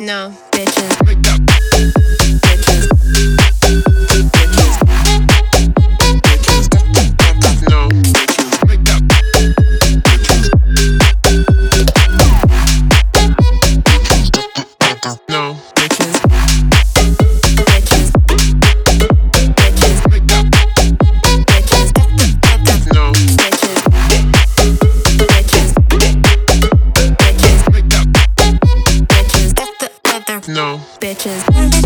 No, bitches. No. Bitches.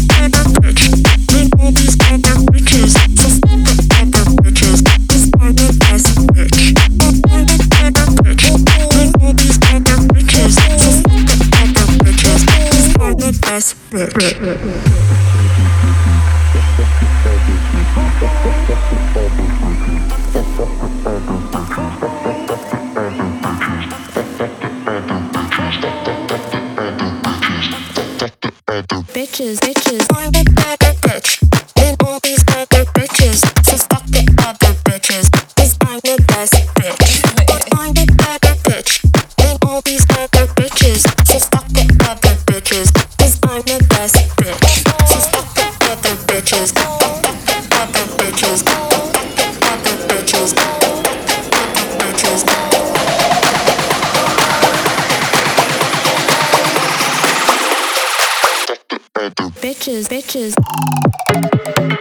Bitches, bitches, I'm the bad bitch. And all these bad bitches, so fuck the other bitches. 'Cause I'm the best bitch. I'm the bad bitch. And all these bad bitches, so fuck the other bitches. 'Cause I'm the best bitch. So fuck the other bitches. Fuck the other bitches. Fuck the other bitches. Bitches, bitches.